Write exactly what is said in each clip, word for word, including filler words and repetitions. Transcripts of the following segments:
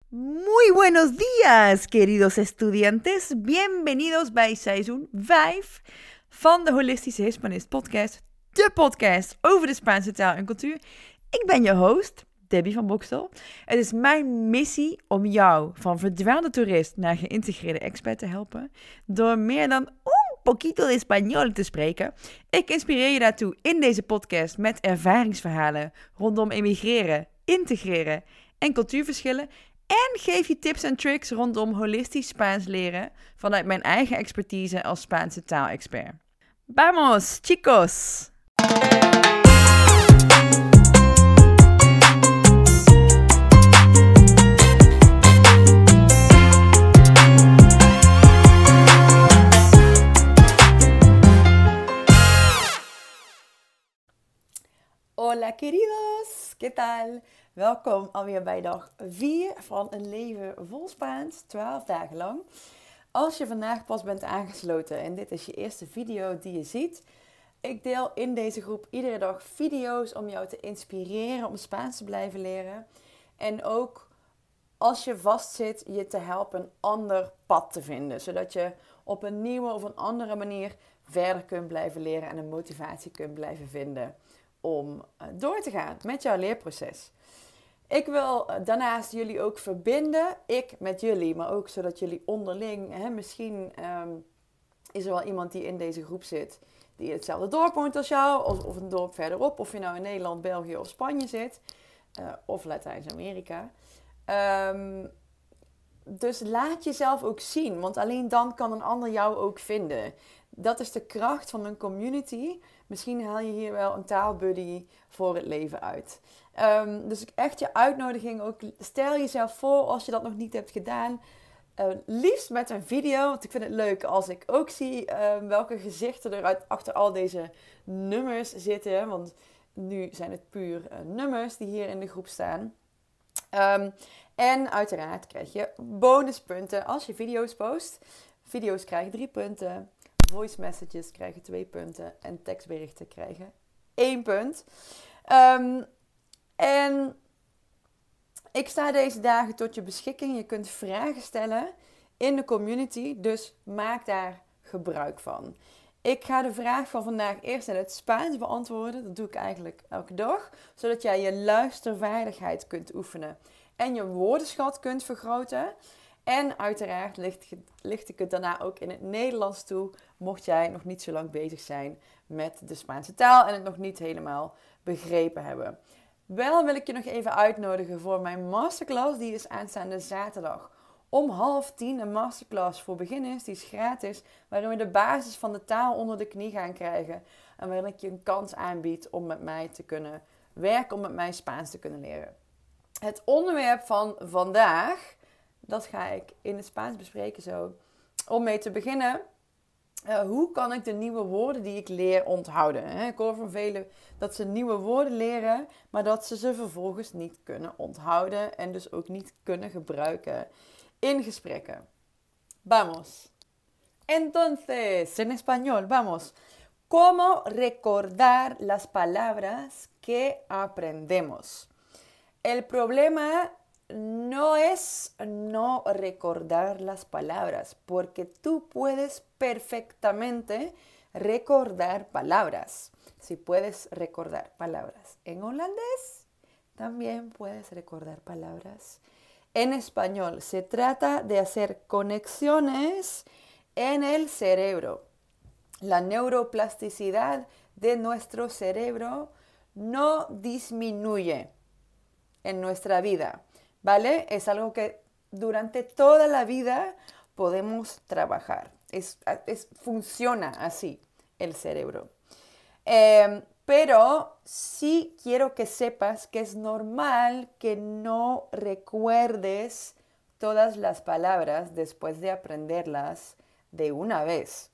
Muy buenos días, queridos estudiantes. Bienvenidos bij seizoen vijf van de Holistische Hispanist podcast. De podcast over de Spaanse taal en cultuur. Ik ben je host, Debbie van Bokstel. Het is mijn missie om jou van verdwaalde toerist naar geïntegreerde expert te helpen. Door meer dan un poquito de español te spreken. Ik inspireer je daartoe in deze podcast met ervaringsverhalen rondom emigreren, integreren en cultuurverschillen. En geef je tips en tricks rondom holistisch Spaans leren vanuit mijn eigen expertise als Spaanse taalexpert. Vamos, chicos! Hola queridos, ¿qué tal? Welkom alweer bij dag vier van een leven vol Spaans, twaalf dagen lang. Als je vandaag pas bent aangesloten en dit is je eerste video die je ziet, ik deel in deze groep iedere dag video's om jou te inspireren om Spaans te blijven leren. En ook als je vastzit, je te helpen een ander pad te vinden, zodat je op een nieuwe of een andere manier verder kunt blijven leren en een motivatie kunt blijven vinden om door te gaan met jouw leerproces. Ik wil daarnaast jullie ook verbinden, ik met jullie, maar ook zodat jullie onderling, hè, misschien um, is er wel iemand die in deze groep zit, die in hetzelfde dorp woont als jou, of, of een dorp verderop, of je nou in Nederland, België of Spanje zit, uh, of Latijns-Amerika. Um, dus laat jezelf ook zien, want alleen dan kan een ander jou ook vinden. Dat is de kracht van een community. Misschien haal je hier wel een taalbuddy voor het leven uit. Um, dus echt je uitnodiging ook. Stel jezelf voor als je dat nog niet hebt gedaan. Uh, liefst met een video. Want ik vind het leuk als ik ook zie uh, welke gezichten er uit, achter al deze nummers zitten. Want nu zijn het puur uh, nummers die hier in de groep staan. Um, en uiteraard krijg je bonuspunten als je video's post. Video's krijgen drie punten. Voice messages krijgen twee punten. En tekstberichten krijgen één punt. Um, en ik sta deze dagen tot je beschikking. Je kunt vragen stellen in de community. Dus maak daar gebruik van. Ik ga de vraag van vandaag eerst in het Spaans beantwoorden. Dat doe ik eigenlijk elke dag. Zodat jij je luistervaardigheid kunt oefenen. En je woordenschat kunt vergroten. En uiteraard licht, licht ik het daarna ook in het Nederlands toe. Mocht jij nog niet zo lang bezig zijn met de Spaanse taal. En het nog niet helemaal begrepen hebben. Wel wil ik je nog even uitnodigen voor mijn masterclass. Die is aanstaande zaterdag om half tien. Een masterclass voor beginners. Die is gratis. Waarin we de basis van de taal onder de knie gaan krijgen. En waarin ik je een kans aanbied om met mij te kunnen werken. Om met mij Spaans te kunnen leren. Het onderwerp van vandaag, dat ga ik in het Spaans bespreken zo. Om mee te beginnen, uh, hoe kan ik de nieuwe woorden die ik leer onthouden? Hè? Ik hoor van velen dat ze nieuwe woorden leren, maar dat ze ze vervolgens niet kunnen onthouden. En dus ook niet kunnen gebruiken in gesprekken. Vamos. Entonces, en español, vamos. ¿Cómo recordar las palabras que aprendemos? El problema no es no recordar las palabras, porque tú puedes perfectamente recordar palabras. Si puedes recordar palabras en holandés, también puedes recordar palabras en español. Se trata de hacer conexiones en el cerebro. La neuroplasticidad de nuestro cerebro no disminuye en nuestra vida, ¿vale? Es algo que durante toda la vida podemos trabajar. Es, es, funciona así el cerebro. Eh, pero sí quiero que sepas que es normal que no recuerdes todas las palabras después de aprenderlas de una vez.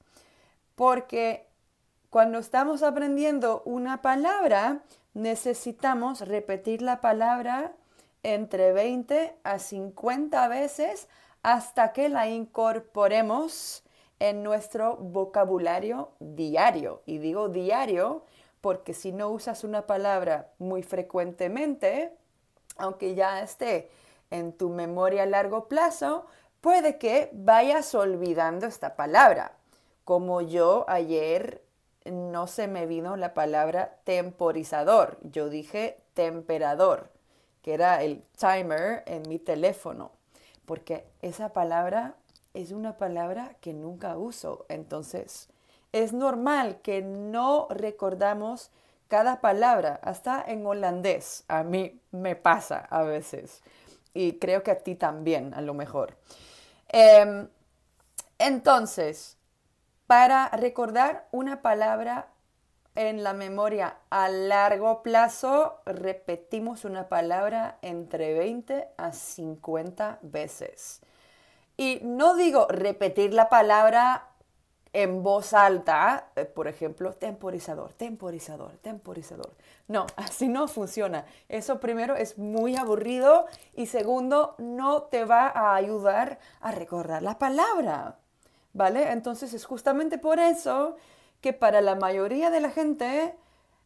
Porque cuando estamos aprendiendo una palabra, necesitamos repetir la palabra entre veinte a cincuenta veces hasta que la incorporemos en nuestro vocabulario diario. Y digo diario porque si no usas una palabra muy frecuentemente, aunque ya esté en tu memoria a largo plazo, puede que vayas olvidando esta palabra. Como yo ayer no se me vino la palabra temporizador, yo dije temperador, que era el timer en mi teléfono, porque esa palabra es una palabra que nunca uso. Entonces, es normal que no recordamos cada palabra, hasta en holandés. A mí me pasa a veces. Y creo que a ti también, a lo mejor. Eh, entonces, para recordar una palabra en la memoria a largo plazo, repetimos una palabra entre veinte a cincuenta veces. Y no digo repetir la palabra en voz alta, eh, por ejemplo, temporizador, temporizador, temporizador. No, así no funciona. Eso primero es muy aburrido y segundo, no te va a ayudar a recordar la palabra, ¿vale? Entonces es justamente por eso que para la mayoría de la gente,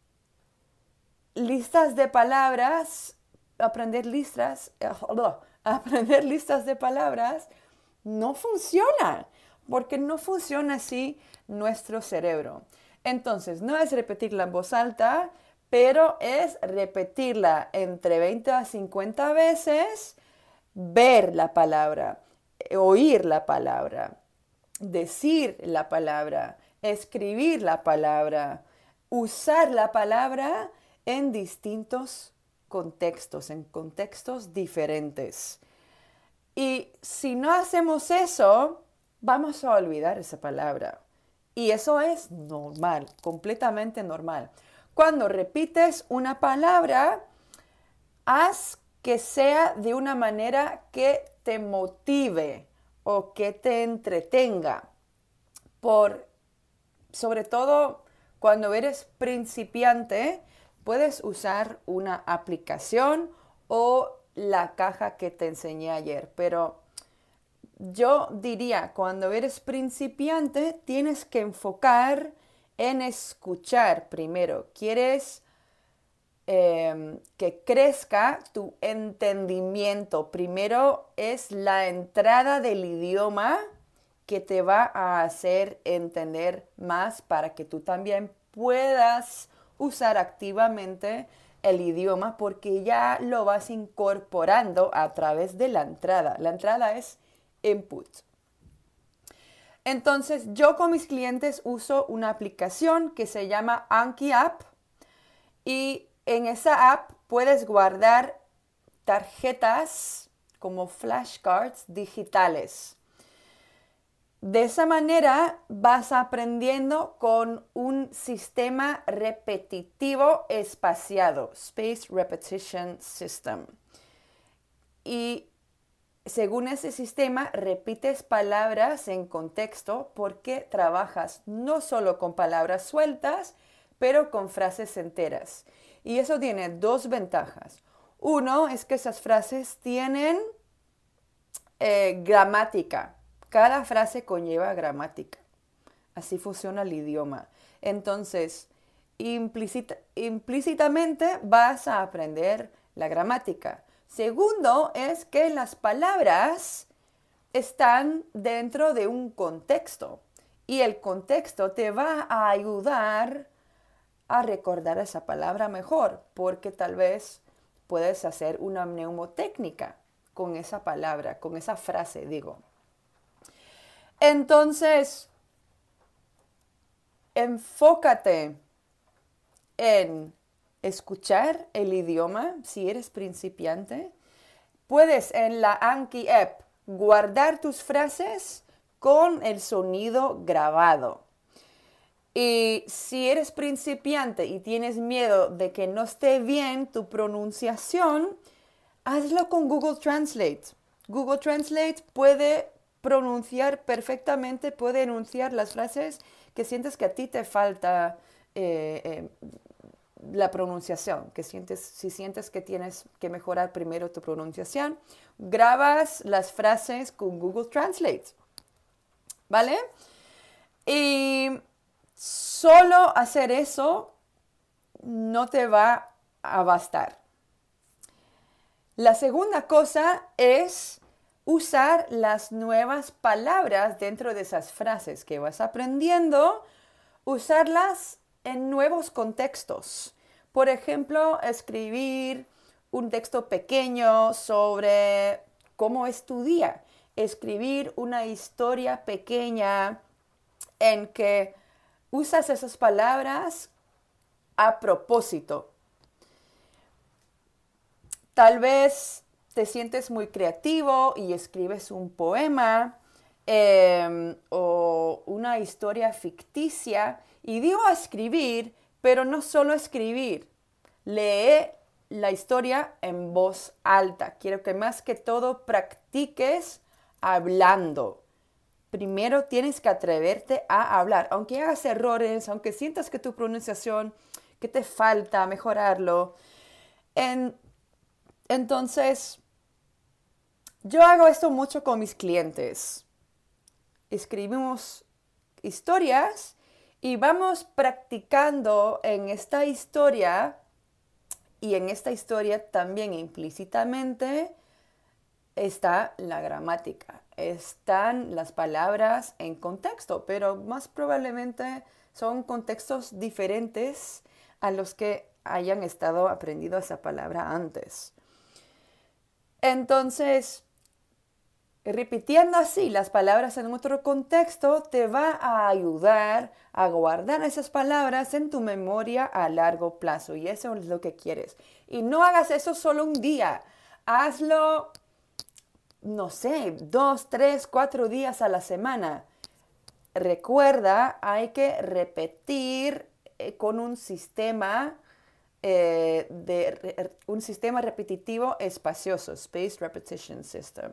listas de palabras, aprender listas, aprender listas de palabras no funciona, porque no funciona así nuestro cerebro. Entonces, no es repetirla en voz alta, pero es repetirla entre veinte a cincuenta veces, ver la palabra, oír la palabra, decir la palabra, escribir la palabra, usar la palabra en distintos contextos, en contextos diferentes. Y si no hacemos eso, vamos a olvidar esa palabra. Y eso es normal, completamente normal. Cuando repites una palabra, haz que sea de una manera que te motive o que te entretenga. Por, sobre todo cuando eres principiante, puedes usar una aplicación o la caja que te enseñé ayer, pero yo diría, cuando eres principiante, tienes que enfocar en escuchar primero. Quieres eh, que crezca tu entendimiento. Primero es la entrada del idioma que te va a hacer entender más para que tú también puedas usar activamente el idioma, porque ya lo vas incorporando a través de la entrada. La entrada es input. Entonces, yo con mis clientes uso una aplicación que se llama Anki App, y en esa app puedes guardar tarjetas como flashcards digitales. De esa manera vas aprendiendo con un sistema repetitivo espaciado, Space Repetition System. Y según ese sistema, repites palabras en contexto porque trabajas no solo con palabras sueltas, pero con frases enteras. Y eso tiene dos ventajas. Uno es que esas frases tienen eh, gramática. Cada frase conlleva gramática. Así funciona el idioma. Entonces, implícita, implícitamente vas a aprender la gramática. Segundo es que las palabras están dentro de un contexto y el contexto te va a ayudar a recordar esa palabra mejor, porque tal vez puedes hacer una mnemotécnica con esa palabra, con esa frase, digo. Entonces, enfócate en escuchar el idioma si eres principiante. Puedes en la Anki App guardar tus frases con el sonido grabado. Y si eres principiante y tienes miedo de que no esté bien tu pronunciación, hazlo con Google Translate. Google Translate puede pronunciar perfectamente, puede enunciar las frases que sientes que a ti te falta eh, eh, la pronunciación, que sientes, si sientes que tienes que mejorar primero tu pronunciación, grabas las frases con Google Translate, ¿vale? Y solo hacer eso no te va a bastar. La segunda cosa es usar las nuevas palabras dentro de esas frases que vas aprendiendo, usarlas en nuevos contextos. Por ejemplo, escribir un texto pequeño sobre cómo es tu día. Escribir una historia pequeña en que usas esas palabras a propósito. Tal vez te sientes muy creativo y escribes un poema eh, o una historia ficticia. Y digo escribir, pero no solo escribir. Lee la historia en voz alta. Quiero que más que todo practiques hablando. Primero tienes que atreverte a hablar. Aunque hagas errores, aunque sientas que tu pronunciación, que te falta mejorarlo. En, entonces, yo hago esto mucho con mis clientes. Escribimos historias y vamos practicando en esta historia, y en esta historia también implícitamente está la gramática, están las palabras en contexto, pero más probablemente son contextos diferentes a los que hayan estado aprendiendo esa palabra antes. Entonces, repitiendo así las palabras en otro contexto te va a ayudar a guardar esas palabras en tu memoria a largo plazo, y eso es lo que quieres. Y no hagas eso solo un día, hazlo, no sé, dos, tres, cuatro días a la semana. Recuerda, hay que repetir eh, con un sistema eh, de re, un sistema repetitivo espacioso, Spaced Repetition System.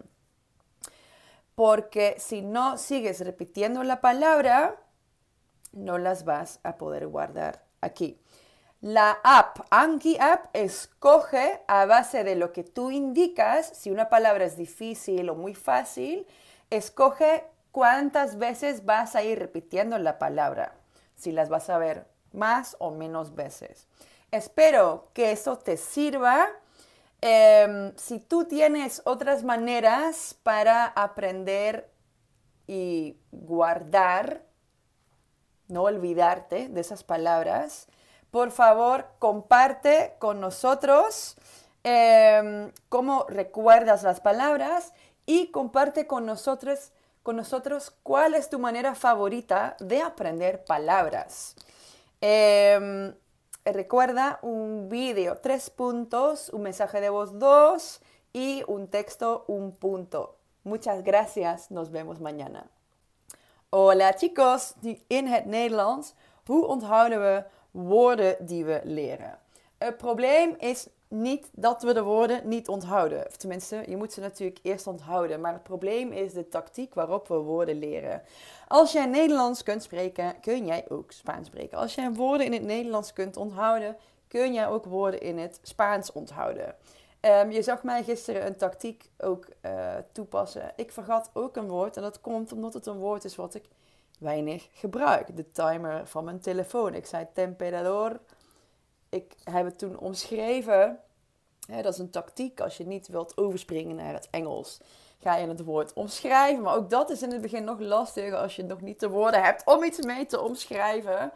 Porque si no sigues repitiendo la palabra, no las vas a poder guardar aquí. La app, Anki App, escoge a base de lo que tú indicas. Si una palabra es difícil o muy fácil, escoge cuántas veces vas a ir repitiendo la palabra. Si las vas a ver más o menos veces. Espero que eso te sirva. Eh, si tú tienes otras maneras para aprender y guardar, no olvidarte de esas palabras, por favor, comparte con nosotros eh, cómo recuerdas las palabras y comparte con nosotros, con nosotros cuál es tu manera favorita de aprender palabras. Eh, recuerda un vídeo, tres puntos, un mensaje de voz, dos y un texto, un punto. Muchas gracias, nos vemos mañana. Hola chicos, in het Nederlands, hoe onthouden we woorden die we leren? Het probleem is niet dat we de woorden niet onthouden. Of tenminste, je moet ze natuurlijk eerst onthouden. Maar het probleem is de tactiek waarop we woorden leren. Als jij Nederlands kunt spreken, kun jij ook Spaans spreken. Als jij woorden in het Nederlands kunt onthouden, kun jij ook woorden in het Spaans onthouden. Um, je zag mij gisteren een tactiek ook uh, toepassen. Ik vergat ook een woord en dat komt omdat het een woord is wat ik weinig gebruik. De timer van mijn telefoon. Ik zei temperador. Ik heb het toen omschreven. Ja, dat is een tactiek als je niet wilt overspringen naar het Engels. Ga je het woord omschrijven. Maar ook dat is in het begin nog lastig als je nog niet de woorden hebt om iets mee te omschrijven.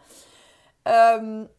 Um,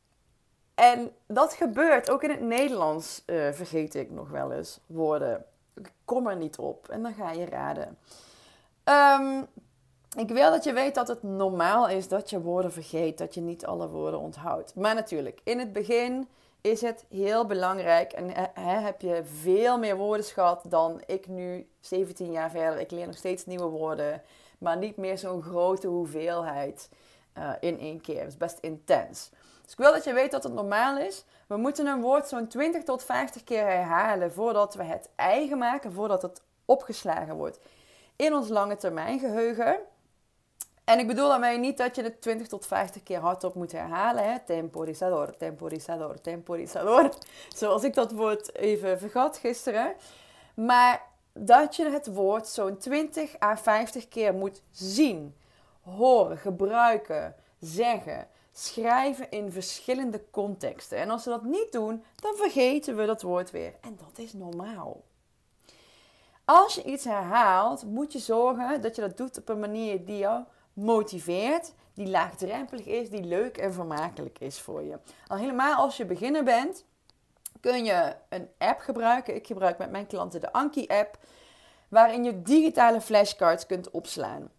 en dat gebeurt ook in het Nederlands. Uh, vergeet ik nog wel eens woorden. Ik kom er niet op. En dan ga je raden. Um, Ik wil dat je weet dat het normaal is dat je woorden vergeet, dat je niet alle woorden onthoudt. Maar natuurlijk, in het begin is het heel belangrijk en he, heb je veel meer woordenschat dan ik nu, zeventien jaar verder. Ik leer nog steeds nieuwe woorden, maar niet meer zo'n grote hoeveelheid uh, in één keer. Het is best intens. Dus ik wil dat je weet dat het normaal is. We moeten een woord zo'n twintig tot vijftig keer herhalen voordat we het eigen maken, voordat het opgeslagen wordt in ons lange termijn geheugen. En ik bedoel daarmee niet dat je het twintig tot vijftig keer hardop moet herhalen. Hè? Temporizador, temporizador, temporizador. Zoals ik dat woord even vergat gisteren. Maar dat je het woord zo'n twintig à vijftig keer moet zien, horen, gebruiken, zeggen. schrijven in verschillende contexten. En als we dat niet doen, dan vergeten we dat woord weer. En dat is normaal. Als je iets herhaalt, moet je zorgen dat je dat doet op een manier die jou motiveert, die laagdrempelig is, die leuk en vermakelijk is voor je. Al helemaal als je beginner bent, kun je een app gebruiken. Ik gebruik met mijn klanten de Anki-app, waarin je digitale flashcards kunt opslaan.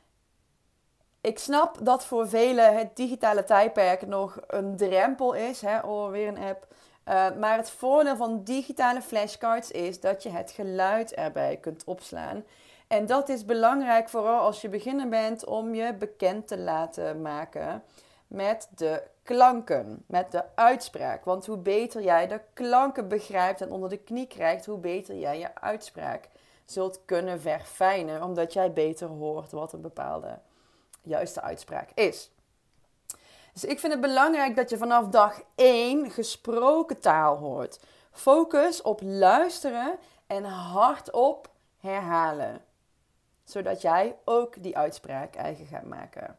Ik snap dat voor velen het digitale tijdperk nog een drempel is. Hè? Oh, weer een app. Uh, maar het voordeel van digitale flashcards is dat je het geluid erbij kunt opslaan. En dat is belangrijk, vooral als je beginner bent, om je bekend te laten maken met de klanken, met de uitspraak. Want hoe beter jij de klanken begrijpt en onder de knie krijgt, hoe beter jij je uitspraak zult kunnen verfijnen, omdat jij beter hoort wat een bepaalde juiste uitspraak is. Dus ik vind het belangrijk dat je vanaf dag één gesproken taal hoort. Focus op luisteren en hardop herhalen. Zodat jij ook die uitspraak eigen gaat maken.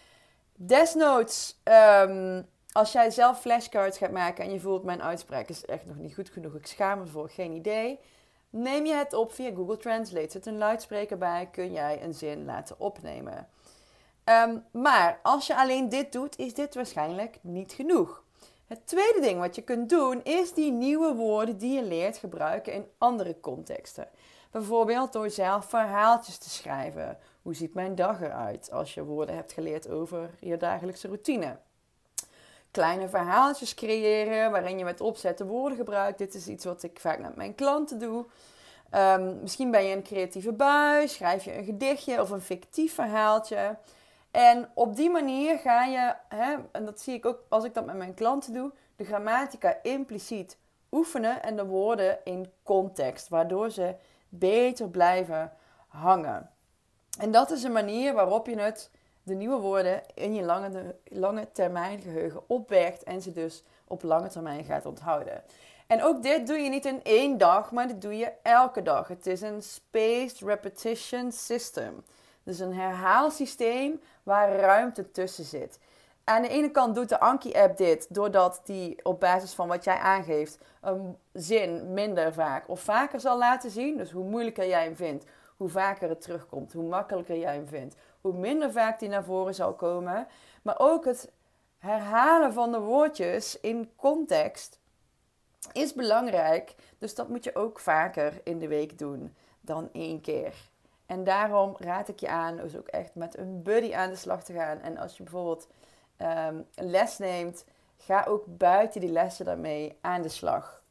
Desnoods, um, als jij zelf flashcards gaat maken en je voelt mijn uitspraak is echt nog niet goed genoeg, ik schaam me voor, geen idee. Neem je het op via Google Translate. Zet een luidspreker bij, kun jij een zin laten opnemen. Um, maar als je alleen dit doet, is dit waarschijnlijk niet genoeg. Het tweede ding wat je kunt doen, is die nieuwe woorden die je leert gebruiken in andere contexten. Bijvoorbeeld door zelf verhaaltjes te schrijven. Hoe ziet mijn dag eruit als je woorden hebt geleerd over je dagelijkse routine? Kleine verhaaltjes creëren waarin je met opzet woorden gebruikt. Dit is iets wat ik vaak met mijn klanten doe. Um, misschien ben je een creatieve bui, schrijf je een gedichtje of een fictief verhaaltje. En op die manier ga je, hè, en dat zie ik ook als ik dat met mijn klanten doe, de grammatica impliciet oefenen en de woorden in context, waardoor ze beter blijven hangen. En dat is een manier waarop je het, de nieuwe woorden in je lange, lange termijn geheugen opbergt en ze dus op lange termijn gaat onthouden. En ook dit doe je niet in één dag, maar dit doe je elke dag. Het is een spaced repetition system. Dus een herhaalsysteem waar ruimte tussen zit. Aan de ene kant doet de Anki-app dit doordat die op basis van wat jij aangeeft een zin minder vaak of vaker zal laten zien. Dus hoe moeilijker jij hem vindt, hoe vaker het terugkomt, hoe makkelijker jij hem vindt, hoe minder vaak die naar voren zal komen. Maar ook het herhalen van de woordjes in context is belangrijk. Dus dat moet je ook vaker in de week doen dan één keer. En daarom raad ik je aan dus ook echt met een buddy aan de slag te gaan. En als je bijvoorbeeld um, een les neemt, ga ook buiten die lessen daarmee aan de slag.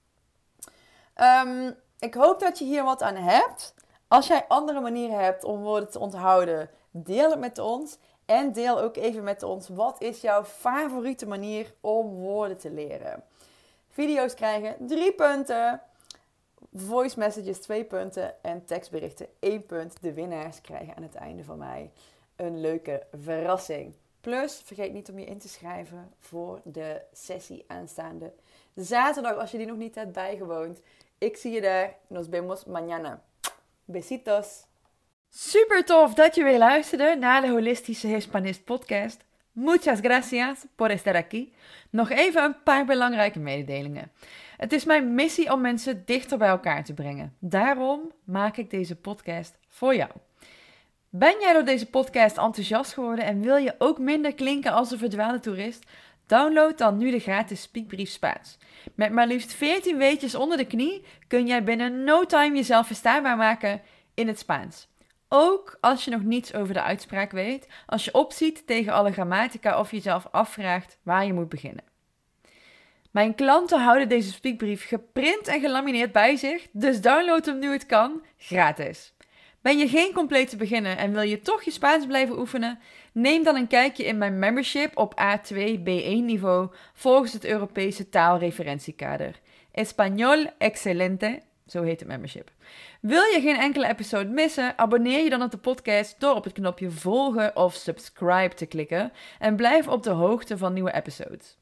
Um, ik hoop dat je hier wat aan hebt. Als jij andere manieren hebt om woorden te onthouden, deel het met ons. En deel ook even met ons, wat is jouw favoriete manier om woorden te leren? Video's krijgen drie punten. Voice messages twee punten en tekstberichten één punt. De winnaars krijgen aan het einde van mei een leuke verrassing. Plus, vergeet niet om je in te schrijven voor de sessie aanstaande zaterdag als je die nog niet hebt bijgewoond. Ik zie je daar. Nos vemos mañana. Besitos. Super tof dat je weer luisterde naar de Holistische Hispanist podcast. Muchas gracias por estar aquí. Nog even een paar belangrijke mededelingen. Het is mijn missie om mensen dichter bij elkaar te brengen. Daarom maak ik deze podcast voor jou. Ben jij door deze podcast enthousiast geworden en wil je ook minder klinken als een verdwaalde toerist? Download dan nu de gratis Speakbrief Spaans. Met maar liefst veertien weetjes onder de knie kun jij binnen no time jezelf verstaanbaar maken in het Spaans. Ook als je nog niets over de uitspraak weet, als je opziet tegen alle grammatica of jezelf afvraagt waar je moet beginnen. Mijn klanten houden deze speakbrief geprint en gelamineerd bij zich, dus download hem nu het kan, gratis. Ben je geen complete beginner en wil je toch je Spaans blijven oefenen? Neem dan een kijkje in mijn membership op A twee B één niveau volgens het Europese taalreferentiekader. Español Excelente, zo heet het membership. Wil je geen enkele episode missen? Abonneer je dan op de podcast door op het knopje volgen of subscribe te klikken en blijf op de hoogte van nieuwe episodes.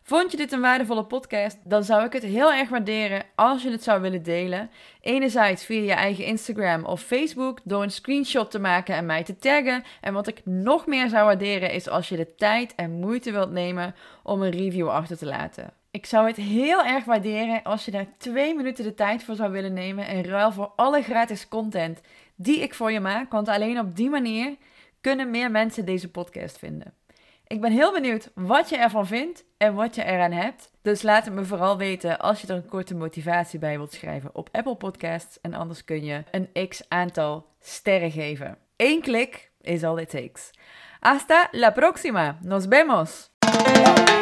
Vond je dit een waardevolle podcast? Dan zou ik het heel erg waarderen als je het zou willen delen. Enerzijds via je eigen Instagram of Facebook door een screenshot te maken en mij te taggen. En wat ik nog meer zou waarderen is als je de tijd en moeite wilt nemen om een review achter te laten. Ik zou het heel erg waarderen als je daar twee minuten de tijd voor zou willen nemen in ruil voor alle gratis content die ik voor je maak. Want alleen op die manier kunnen meer mensen deze podcast vinden. Ik ben heel benieuwd wat je ervan vindt en wat je eraan hebt. Dus laat het me vooral weten als je er een korte motivatie bij wilt schrijven op Apple Podcasts. En anders kun je een x-aantal sterren geven. Eén klik is all it takes. Hasta la próxima. Nos vemos.